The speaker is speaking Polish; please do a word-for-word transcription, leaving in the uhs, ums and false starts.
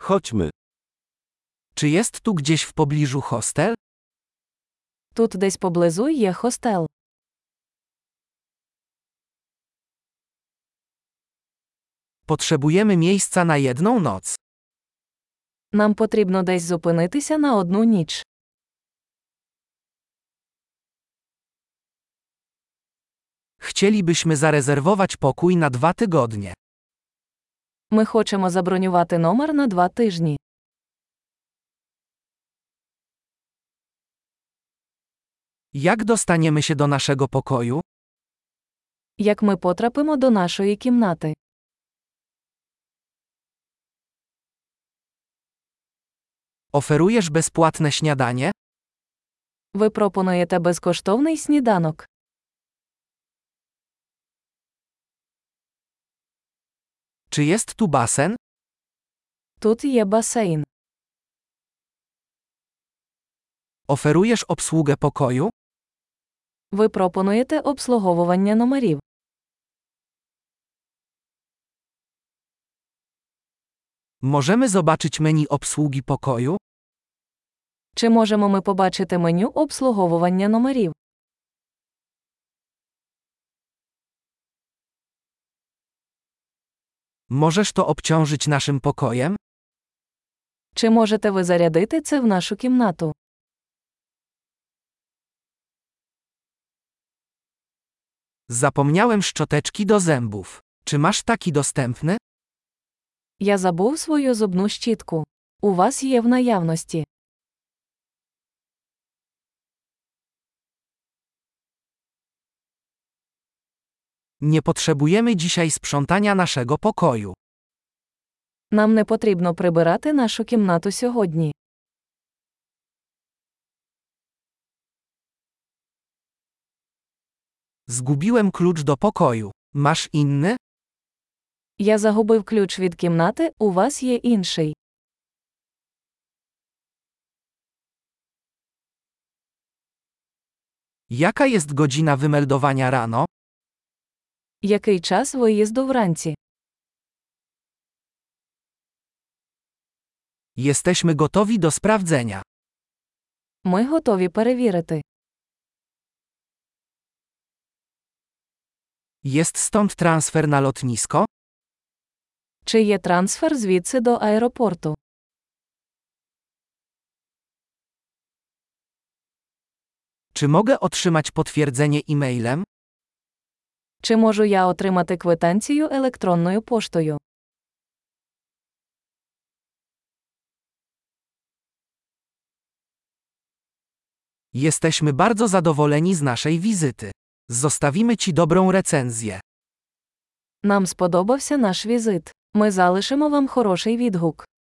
Chodźmy. Czy jest tu gdzieś w pobliżu hostel? Тут десь поблизу є хостел. Potrzebujemy miejsca na jedną noc. Нам потрібно десь зупинитися на одну ніч. Chcielibyśmy zarezerwować pokój na dwa tygodnie. Ми хочемо забронювати номер на два тижні. Jak dostaniemy się do naszego pokoju? Як ми потрапимо до нашої кімнати? Oferujesz bezpłatne śniadanie? Ви пропонуєте безкоштовний сніданок. Czy jest tu basen? Тут є басейн. Oferujesz obsługę pokoju? Ви пропонуєте обслуговування номерів. Możemy zobaczyć menu obsługi pokoju? Чи можемо ми побачити меню обслуговування номерів? Możesz to obciążyć naszym pokojem? Чи можете ви зарядити це в нашу кімнату? Zapomniałem szczoteczki do zębów. Czy masz taki dostępny? Я забув свою зубну щітку. У вас є в наявності. Nie potrzebujemy dzisiaj sprzątania naszego pokoju. Нам не потрібно прибирати нашу кімнату сьогодні. Zgubiłem klucz do pokoju. Masz inny? Я загубив ключ від кімнати, у вас є інший. Jaka jest godzina wymeldowania rano? Який час виїзду вранці? Jesteśmy gotowi do sprawdzenia. Ми готові перевірити. Jest stąd transfer na lotnisko? Чи є трансфер звідси до аеропорту? Czy mogę otrzymać potwierdzenie e-mailem? Чи можу я отримати квитанцію електронною поштою? Jesteśmy bardzo zadowoleni z naszej wizyty. Zostawimy Ci dobrą recenzję. Нам сподобався наш візит. Ми залишимо вам хороший відгук.